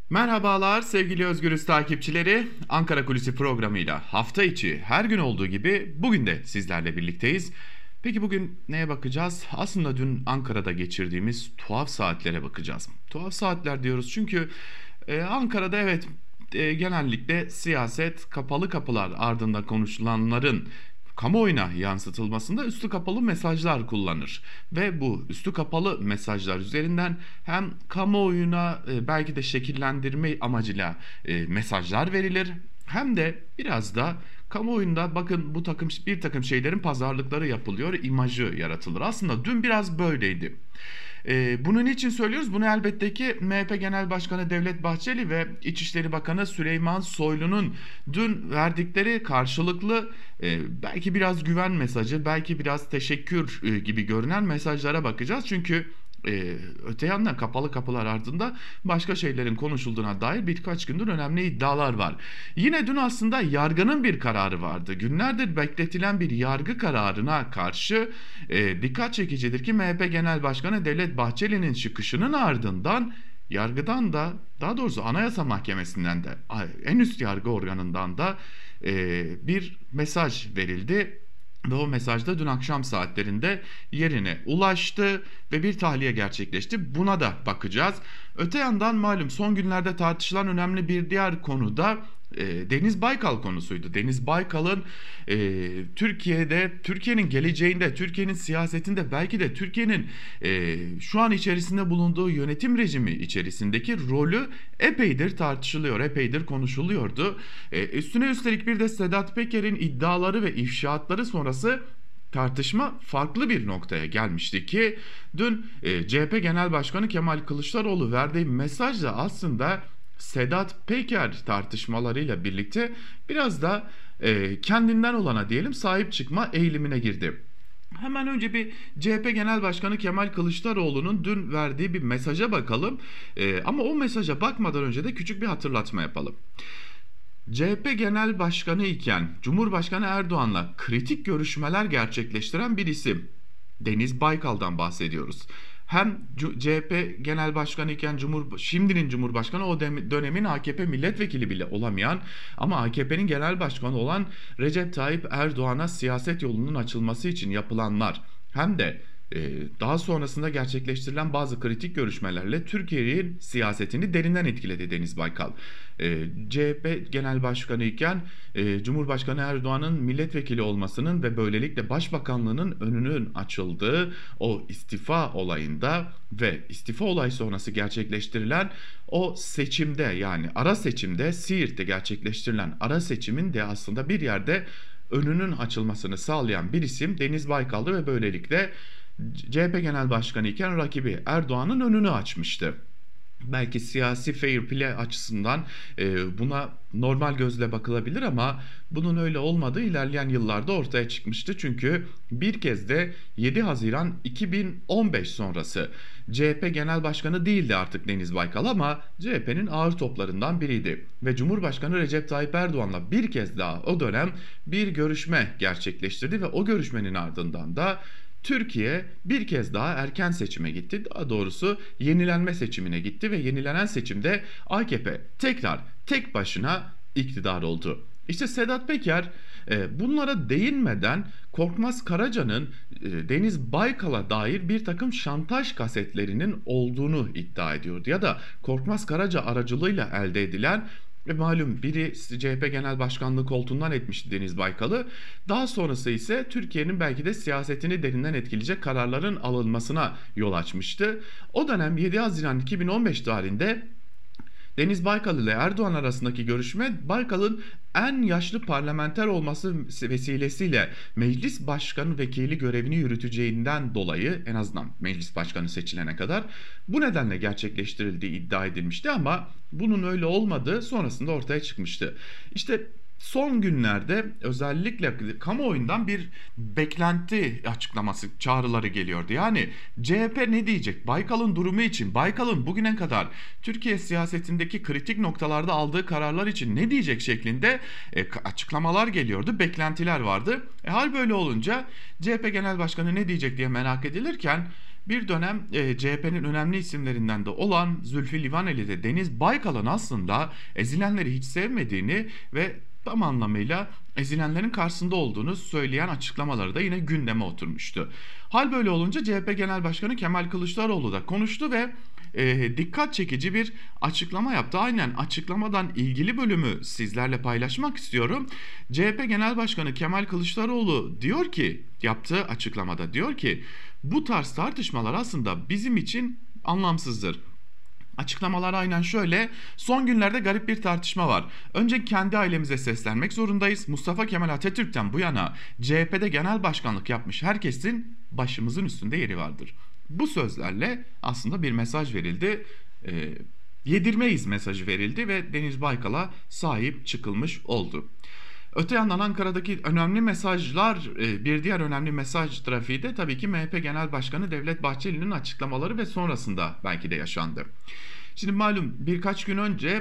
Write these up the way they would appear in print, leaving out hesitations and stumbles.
Merhabalar sevgili Özgürüz takipçileri. Ankara Kulisi programıyla hafta içi her gün olduğu gibi bugün de sizlerle birlikteyiz. Peki bugün neye bakacağız? Aslında dün Ankara'da geçirdiğimiz tuhaf saatlere bakacağız. Tuhaf saatler diyoruz çünkü Ankara'da evet, genellikle siyaset kapalı kapılar ardında konuşulanların kamuoyuna yansıtılmasında üstü kapalı mesajlar kullanır. Ve bu üstü kapalı mesajlar üzerinden hem kamuoyuna belki de şekillendirme amacıyla mesajlar verilir, hem de biraz da kamuoyunda bakın bir takım şeylerin pazarlıkları yapılıyor, imajı yaratılır. Aslında dün biraz böyleydi. Bunu niçin söylüyoruz? Bunu elbette ki MHP Genel Başkanı Devlet Bahçeli ve İçişleri Bakanı Süleyman Soylu'nun dün verdikleri karşılıklı belki biraz güven mesajı, belki biraz teşekkür gibi görünen mesajlara bakacağız. Çünkü öte yandan kapalı kapılar ardında başka şeylerin konuşulduğuna dair birkaç gündür önemli iddialar var. Yine dün aslında yargının bir kararı vardı. Günlerdir bekletilen bir yargı kararına karşı dikkat çekicidir ki MHP Genel Başkanı Devlet Bahçeli'nin çıkışının ardından yargıdan da, daha doğrusu Anayasa Mahkemesi'nden de, en üst yargı organından da bir mesaj verildi. Ve o mesajda dün akşam saatlerinde yerine ulaştı ve bir tahliye gerçekleşti. Buna da bakacağız. Öte yandan malum son günlerde tartışılan önemli bir diğer konu da Deniz Baykal konusuydu. Deniz Baykal'ın Türkiye'nin geleceğinde, Türkiye'nin siyasetinde, belki de Türkiye'nin şu an içerisinde bulunduğu yönetim rejimi içerisindeki rolü epeydir tartışılıyor, epeydir konuşuluyordu. Üstüne üstelik bir de Sedat Peker'in iddiaları ve ifşaatları sonrası tartışma farklı bir noktaya gelmişti ki dün CHP Genel Başkanı Kemal Kılıçdaroğlu verdiği mesajla aslında Sedat Peker tartışmalarıyla birlikte biraz da kendinden olana diyelim sahip çıkma eğilimine girdi. Hemen önce bir CHP Genel Başkanı Kemal Kılıçdaroğlu'nun dün verdiği bir mesaja bakalım. Ama o mesaja bakmadan önce de küçük bir hatırlatma yapalım. CHP Genel Başkanı iken Cumhurbaşkanı Erdoğan'la kritik görüşmeler gerçekleştiren bir isim. Deniz Baykal'dan bahsediyoruz. Hem CHP Genel Başkanı iken şimdinin Cumhurbaşkanı, o dönemin AKP milletvekili bile olamayan ama AKP'nin genel başkanı olan Recep Tayyip Erdoğan'a siyaset yolunun açılması için yapılanlar, hem de daha sonrasında gerçekleştirilen bazı kritik görüşmelerle Türkiye'nin siyasetini derinden etkiledi Deniz Baykal. CHP Genel Başkanı iken Cumhurbaşkanı Erdoğan'ın milletvekili olmasının ve böylelikle başbakanlığının önünün açıldığı o istifa olayında ve istifa olay sonrası gerçekleştirilen o seçimde, yani ara seçimde, Siirt'te gerçekleştirilen ara seçimin de aslında bir yerde önünün açılmasını sağlayan bir isim Deniz Baykal'dı ve böylelikle CHP Genel Başkanı iken rakibi Erdoğan'ın önünü açmıştı. Belki siyasi fair play açısından buna normal gözle bakılabilir ama bunun öyle olmadığı ilerleyen yıllarda ortaya çıkmıştı. Çünkü bir kez de 7 Haziran 2015 sonrası CHP Genel Başkanı değildi artık Deniz Baykal ama CHP'nin ağır toplarından biriydi. Ve Cumhurbaşkanı Recep Tayyip Erdoğan'la bir kez daha o dönem bir görüşme gerçekleştirdi ve o görüşmenin ardından da Türkiye bir kez daha erken seçime gitti. Daha doğrusu yenilenme seçimine gitti ve yenilenen seçimde AKP tekrar tek başına iktidar oldu. İşte Sedat Peker bunlara değinmeden Korkmaz Karaca'nın Deniz Baykal'a dair bir takım şantaj kasetlerinin olduğunu iddia ediyordu. Ya da Korkmaz Karaca aracılığıyla elde edilen ve malum biri CHP Genel Başkanlığı koltuğundan etmişti Deniz Baykal'ı. Daha sonrası ise Türkiye'nin belki de siyasetini derinden etkileyecek kararların alınmasına yol açmıştı. O dönem 7 Haziran 2015 tarihinde Deniz Baykal ile Erdoğan arasındaki görüşme, Baykal'ın en yaşlı parlamenter olması vesilesiyle meclis başkanı vekili görevini yürüteceğinden dolayı, en azından meclis başkanı seçilene kadar bu nedenle gerçekleştirildiği iddia edilmişti ama bunun öyle olmadığı sonrasında ortaya çıkmıştı. İşte son günlerde özellikle kamuoyundan bir beklenti açıklaması çağrıları geliyordu. Yani CHP ne diyecek? Baykal'ın durumu için, Baykal'ın bugüne kadar Türkiye siyasetindeki kritik noktalarda aldığı kararlar için ne diyecek şeklinde açıklamalar geliyordu, beklentiler vardı. Hal böyle olunca CHP Genel Başkanı ne diyecek diye merak edilirken bir dönem CHP'nin önemli isimlerinden de olan Zülfü Livaneli de Deniz Baykal'ın aslında ezilenleri hiç sevmediğini ve tam anlamıyla ezilenlerin karşısında olduğunu söyleyen açıklamaları da yine gündeme oturmuştu. Hal böyle olunca CHP Genel Başkanı Kemal Kılıçdaroğlu da konuştu ve dikkat çekici bir açıklama yaptı. Aynen, açıklamadan ilgili bölümü sizlerle paylaşmak istiyorum. CHP Genel Başkanı Kemal Kılıçdaroğlu diyor ki, yaptığı açıklamada diyor ki, bu tarz tartışmalar aslında bizim için anlamsızdır. Açıklamalar aynen şöyle: son günlerde garip bir tartışma var. Önce kendi ailemize seslenmek zorundayız. Mustafa Kemal Atatürk'ten bu yana CHP'de genel başkanlık yapmış herkesin başımızın üstünde yeri vardır. Bu sözlerle aslında bir mesaj verildi. Yedirmeyiz mesajı verildi ve Deniz Baykal'a sahip çıkılmış oldu. Öte yandan Ankara'daki önemli mesajlar, bir diğer önemli mesaj trafiği de tabii ki MHP Genel Başkanı Devlet Bahçeli'nin açıklamaları ve sonrasında belki de yaşandı. Şimdi malum birkaç gün önce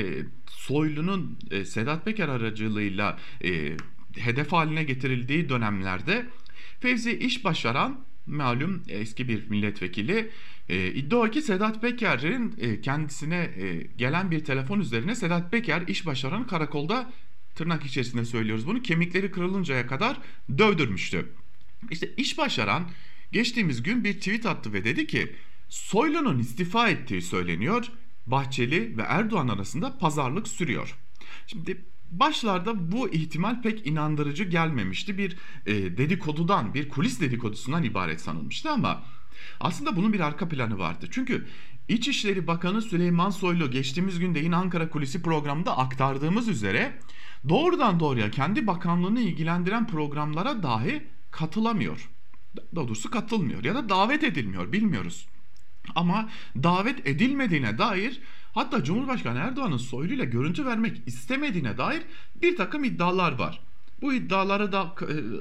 Soylu'nun Sedat Peker aracılığıyla hedef haline getirildiği dönemlerde Fevzi İşbaşaran, malum eski bir milletvekili, iddia o ki Sedat Peker'in kendisine gelen bir telefon üzerine Sedat Peker İşbaşaran'ı karakolda, tırnak içerisinde söylüyoruz bunu, kemikleri kırılıncaya kadar dövdürmüştü. İşte İşbaşaran geçtiğimiz gün bir tweet attı ve dedi ki Soylu'nun istifa ettiği söyleniyor. Bahçeli ve Erdoğan arasında pazarlık sürüyor. Şimdi başlarda bu ihtimal pek inandırıcı gelmemişti. Bir dedikodudan, bir kulis dedikodusundan ibaret sanılmıştı ama aslında bunun bir arka planı vardı. Çünkü İçişleri Bakanı Süleyman Soylu geçtiğimiz günde yine Ankara Kulisi programında aktardığımız üzere doğrudan doğruya kendi bakanlığını ilgilendiren programlara dahi katılamıyor. Daha doğrusu katılmıyor ya da davet edilmiyor, bilmiyoruz. Ama davet edilmediğine dair, hatta Cumhurbaşkanı Erdoğan'ın Soylu ile görüntü vermek istemediğine dair bir takım iddialar var. Bu iddiaları da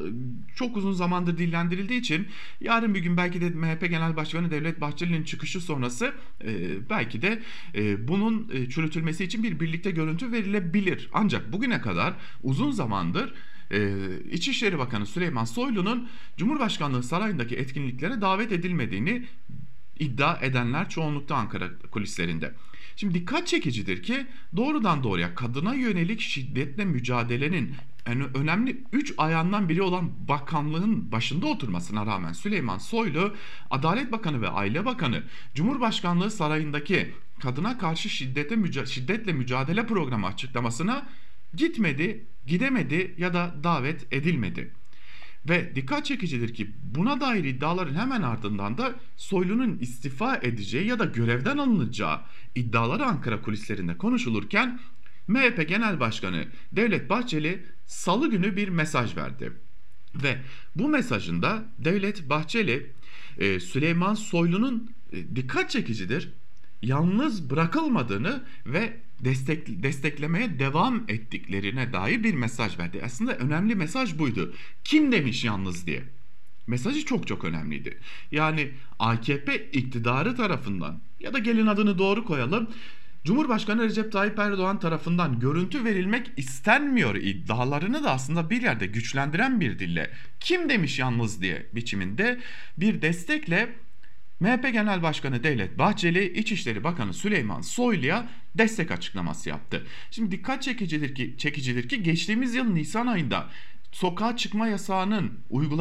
çok uzun zamandır dillendirildiği için yarın bir gün belki de MHP Genel Başkanı Devlet Bahçeli'nin çıkışı sonrası belki de bunun çürütülmesi için bir birlikte görüntü verilebilir. Ancak bugüne kadar uzun zamandır İçişleri Bakanı Süleyman Soylu'nun Cumhurbaşkanlığı sarayındaki etkinliklere davet edilmediğini iddia edenler çoğunlukta Ankara kulislerinde. Şimdi dikkat çekicidir ki doğrudan doğruya kadına yönelik şiddetle mücadelenin önemli 3 ayağından biri olan bakanlığın başında oturmasına rağmen Süleyman Soylu, Adalet Bakanı ve Aile Bakanı, Cumhurbaşkanlığı sarayındaki kadına karşı şiddetle mücadele programı açıklamasına gitmedi, gidemedi ya da davet edilmedi. Ve dikkat çekicidir ki buna dair iddiaların hemen ardından da Soylu'nun istifa edeceği ya da görevden alınacağı iddiaları Ankara kulislerinde konuşulurken MHP Genel Başkanı Devlet Bahçeli Salı günü bir mesaj verdi. Ve bu mesajında Devlet Bahçeli Süleyman Soylu'nun dikkat çekicidir, yalnız bırakılmadığını ve desteklemeye devam ettiklerine dair bir mesaj verdi. Aslında önemli mesaj buydu. Kim demiş yalnız diye. Mesajı çok çok önemliydi. Yani AKP iktidarı tarafından ya da gelin adını doğru koyalım, Cumhurbaşkanı Recep Tayyip Erdoğan tarafından görüntü verilmek istenmiyor iddialarını da aslında bir yerde güçlendiren bir dille kim demiş yalnız diye biçiminde bir destekle MHP Genel Başkanı Devlet Bahçeli, İçişleri Bakanı Süleyman Soylu'ya destek açıklaması yaptı. Şimdi dikkat çekicidir ki geçtiğimiz yıl Nisan ayında sokağa çıkma yasağının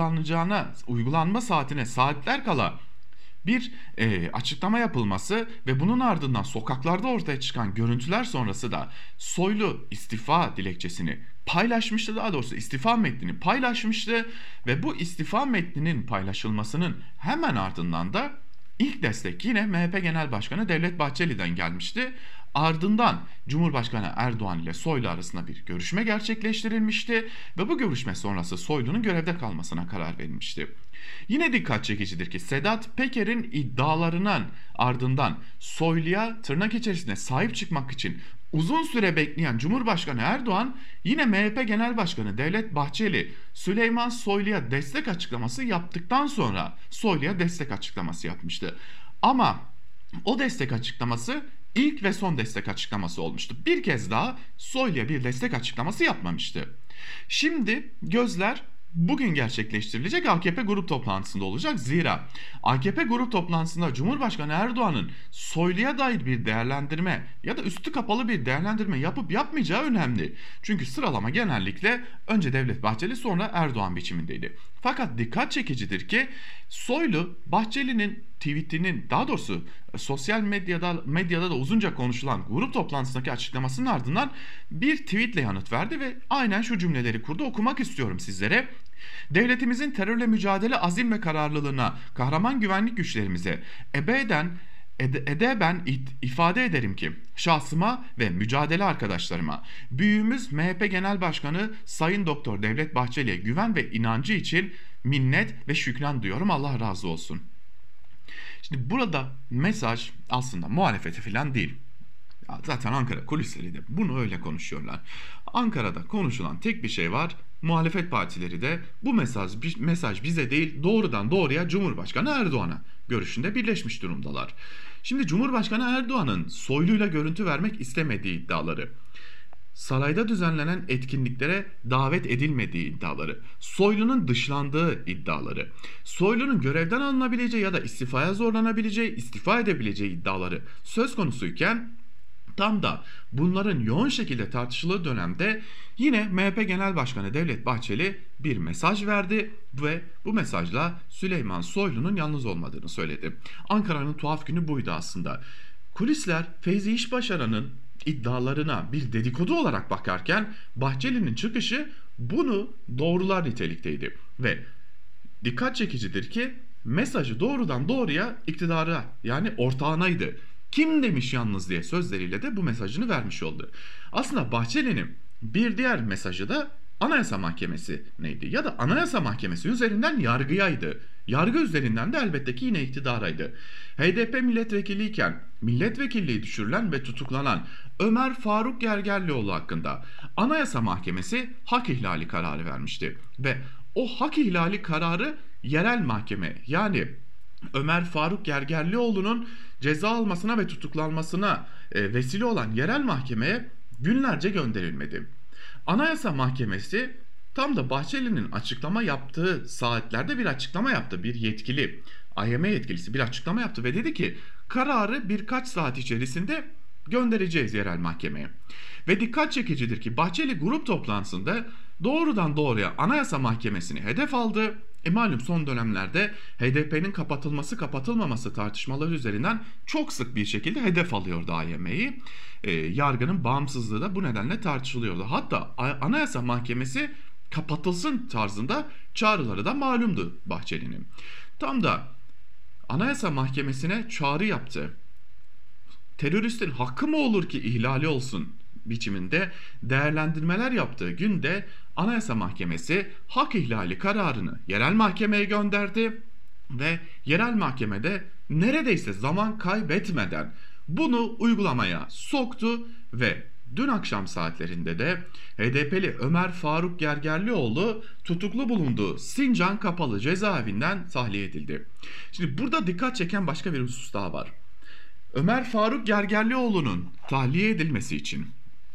uygulanma saatine saatler kala bir açıklama yapılması ve bunun ardından sokaklarda ortaya çıkan görüntüler sonrası da Soylu istifa dilekçesini paylaşmıştı, daha doğrusu istifa metnini paylaşmıştı ve bu istifa metninin paylaşılmasının hemen ardından da ilk destek yine MHP Genel Başkanı Devlet Bahçeli'den gelmişti. Ardından Cumhurbaşkanı Erdoğan ile Soylu arasında bir görüşme gerçekleştirilmişti ve bu görüşme sonrası Soylu'nun görevde kalmasına karar verilmişti. Yine dikkat çekicidir ki Sedat Peker'in iddialarının ardından Soylu'ya tırnak içerisinde sahip çıkmak için uzun süre bekleyen Cumhurbaşkanı Erdoğan yine MHP Genel Başkanı Devlet Bahçeli Süleyman Soylu'ya destek açıklaması yaptıktan sonra Soylu'ya destek açıklaması yapmıştı. Ama o destek açıklaması ilk ve son destek açıklaması olmuştu. Bir kez daha Soylu'ya bir destek açıklaması yapmamıştı. Şimdi gözler bugün gerçekleştirilecek AKP grup toplantısında olacak. Zira AKP grup toplantısında Cumhurbaşkanı Erdoğan'ın Soylu'ya dair bir değerlendirme ya da üstü kapalı bir değerlendirme yapıp yapmayacağı önemli. Çünkü sıralama genellikle önce Devlet Bahçeli sonra Erdoğan biçimindeydi. Fakat dikkat çekicidir ki Soylu Bahçeli'nin tweetinin, daha doğrusu sosyal medyada da uzunca konuşulan grup toplantısındaki açıklamasının ardından bir tweetle yanıt verdi ve aynen şu cümleleri kurdu. Okumak istiyorum sizlere. Devletimizin terörle mücadele azim ve kararlılığına, kahraman güvenlik güçlerimize edeben ifade ederim ki şahsıma ve mücadele arkadaşlarıma büyüğümüz MHP Genel Başkanı Sayın Doktor Devlet Bahçeli'ye güven ve inancı için minnet ve şükran duyuyorum. Allah razı olsun. Şimdi burada mesaj aslında muhalefete falan değil. Ya zaten Ankara kulisleri de bunu öyle konuşuyorlar. Ankara'da konuşulan tek bir şey var. Muhalefet partileri de bu mesaj bize değil, doğrudan doğruya Cumhurbaşkanı Erdoğan'a görüşünde birleşmiş durumdalar. Şimdi Cumhurbaşkanı Erdoğan'ın Soylu'yla görüntü vermek istemediği iddiaları, sarayda düzenlenen etkinliklere davet edilmediği iddiaları, Soylu'nun dışlandığı iddiaları, Soylu'nun görevden alınabileceği ya da istifaya zorlanabileceği, istifa edebileceği iddiaları söz konusuyken tam da bunların yoğun şekilde tartışıldığı dönemde yine MHP Genel Başkanı Devlet Bahçeli bir mesaj verdi ve bu mesajla Süleyman Soylu'nun yalnız olmadığını söyledi. Ankara'nın tuhaf günü buydu aslında. Kulisler Feyzi İşbaşaran'ın iddialarına bir dedikodu olarak bakarken Bahçeli'nin çıkışı bunu doğrular nitelikteydi ve dikkat çekicidir ki mesajı doğrudan doğruya iktidara, yani ortağınaydı. Kim demiş yalnız diye sözleriyle de bu mesajını vermiş oldu. Aslında Bahçeli'nin bir diğer mesajı da Anayasa Mahkemesi neydi? Ya da Anayasa Mahkemesi üzerinden yargıyaydı. Yargı üzerinden de elbette ki yine iktidaraydı. HDP milletvekiliyken milletvekilliği düşürülen ve tutuklanan Ömer Faruk Gergerlioğlu hakkında Anayasa Mahkemesi hak ihlali kararı vermişti. Ve o hak ihlali kararı yerel mahkeme, yani Ömer Faruk Gergerlioğlu'nun ceza almasına ve tutuklanmasına vesile olan yerel mahkemeye günlerce gönderilmedi. Anayasa Mahkemesi tam da Bahçeli'nin açıklama yaptığı saatlerde bir açıklama yaptı. Bir yetkili, AYM yetkilisi bir açıklama yaptı ve dedi ki kararı birkaç saat içerisinde göndereceğiz yerel mahkemeye. Ve dikkat çekicidir ki Bahçeli grup toplantısında doğrudan doğruya Anayasa Mahkemesi'ni hedef aldı. Malum son dönemlerde HDP'nin kapatılması kapatılmaması tartışmaları üzerinden çok sık bir şekilde hedef alıyordu AYM'yi. Yargının bağımsızlığı da bu nedenle tartışılıyordu. Hatta Anayasa Mahkemesi kapatılsın tarzında çağrıları da malumdu Bahçeli'nin. Tam da Anayasa Mahkemesi'ne çağrı yaptı. Teröristin hakkı mı olur ki ihlali olsun biçiminde değerlendirmeler yaptığı günde Anayasa Mahkemesi hak ihlali kararını yerel mahkemeye gönderdi ve yerel mahkemede neredeyse zaman kaybetmeden bunu uygulamaya soktu ve dün akşam saatlerinde de HDP'li Ömer Faruk Gergerlioğlu tutuklu bulunduğu Sincan Kapalı Cezaevinden tahliye edildi. Şimdi burada dikkat çeken başka bir husus daha var. Ömer Faruk Gergerlioğlu'nun tahliye edilmesi için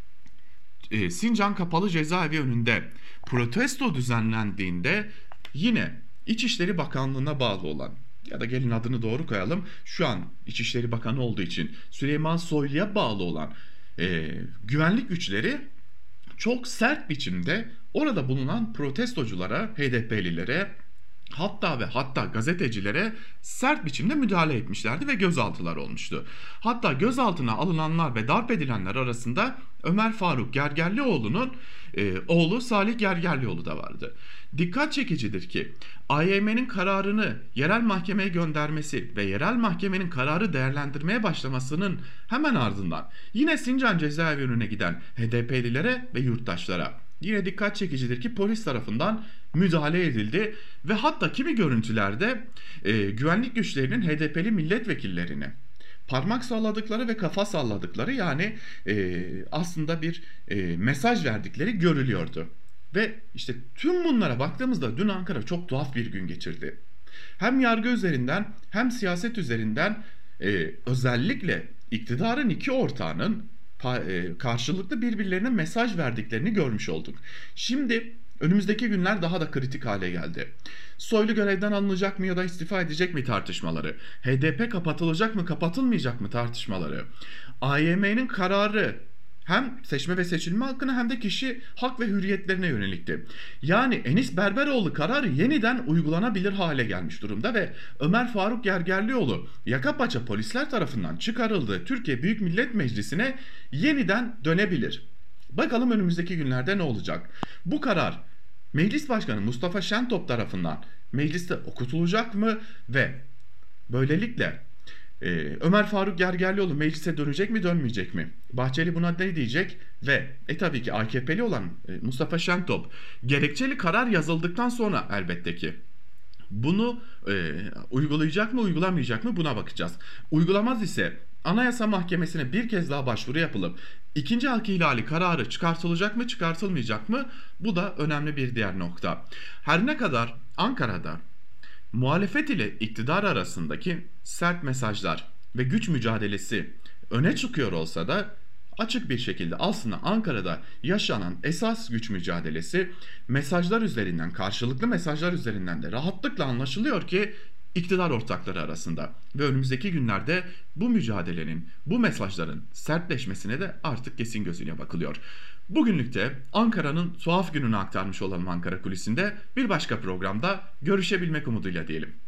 Sincan Kapalı Cezaevi önünde protesto düzenlendiğinde yine İçişleri Bakanlığı'na bağlı olan, ya da gelin adını doğru koyalım, şu an İçişleri Bakanı olduğu için Süleyman Soylu'ya bağlı olan güvenlik güçleri çok sert biçimde orada bulunan protestoculara, HDP'lilere, hatta gazetecilere sert biçimde müdahale etmişlerdi ve gözaltılar olmuştu. Hatta gözaltına alınanlar ve darp edilenler arasında Ömer Faruk Gergerlioğlu'nun oğlu Salih Gergerlioğlu da vardı. Dikkat çekicidir ki AYM'nin kararını yerel mahkemeye göndermesi ve yerel mahkemenin kararı değerlendirmeye başlamasının hemen ardından yine Sincan cezaevi önüne giden HDP'lilere ve yurttaşlara yine dikkat çekicidir ki polis tarafından müdahale edildi ve hatta kimi görüntülerde güvenlik güçlerinin HDP'li milletvekillerine parmak salladıkları ve kafa salladıkları, yani aslında bir mesaj verdikleri görülüyordu. Ve işte tüm bunlara baktığımızda dün Ankara çok tuhaf bir gün geçirdi. Hem yargı üzerinden hem siyaset üzerinden özellikle iktidarın iki ortağının karşılıklı birbirlerine mesaj verdiklerini görmüş olduk. Şimdi Önümüzdeki günler daha da kritik hale geldi. Soylu görevden alınacak mı ya da istifa edecek mi tartışmaları, HDP kapatılacak mı kapatılmayacak mı tartışmaları, AYM'nin kararı hem seçme ve seçilme hakkına hem de kişi hak ve hürriyetlerine yönelikti. Yani Enis Berberoğlu kararı yeniden uygulanabilir hale gelmiş durumda ve Ömer Faruk Gergerlioğlu yakapaça polisler tarafından çıkarıldığı Türkiye Büyük Millet Meclisi'ne yeniden dönebilir. Bakalım önümüzdeki günlerde ne olacak? Bu karar Meclis Başkanı Mustafa Şentop tarafından mecliste okutulacak mı ve böylelikle Ömer Faruk Gergerlioğlu meclise dönecek mi dönmeyecek mi? Bahçeli buna ne diyecek? Ve tabii ki AKP'li olan Mustafa Şentop gerekçeli karar yazıldıktan sonra elbette ki bunu uygulayacak mı uygulamayacak mı buna bakacağız. Uygulamaz ise Anayasa Mahkemesi'ne bir kez daha başvuru yapılıp ikinci hak ihlali kararı çıkartılacak mı çıkartılmayacak mı? Bu da önemli bir diğer nokta. Her ne kadar Ankara'da muhalefet ile iktidar arasındaki sert mesajlar ve güç mücadelesi öne çıkıyor olsa da açık bir şekilde aslında Ankara'da yaşanan esas güç mücadelesi mesajlar üzerinden, karşılıklı mesajlar üzerinden de rahatlıkla anlaşılıyor ki iktidar ortakları arasında ve önümüzdeki günlerde bu mücadelenin, bu mesajların sertleşmesine de artık kesin gözüyle bakılıyor. Bugünlük de Ankara'nın tuhaf gününü aktarmış olalım Ankara Kulisi'nde. Bir başka programda görüşebilmek umuduyla diyelim.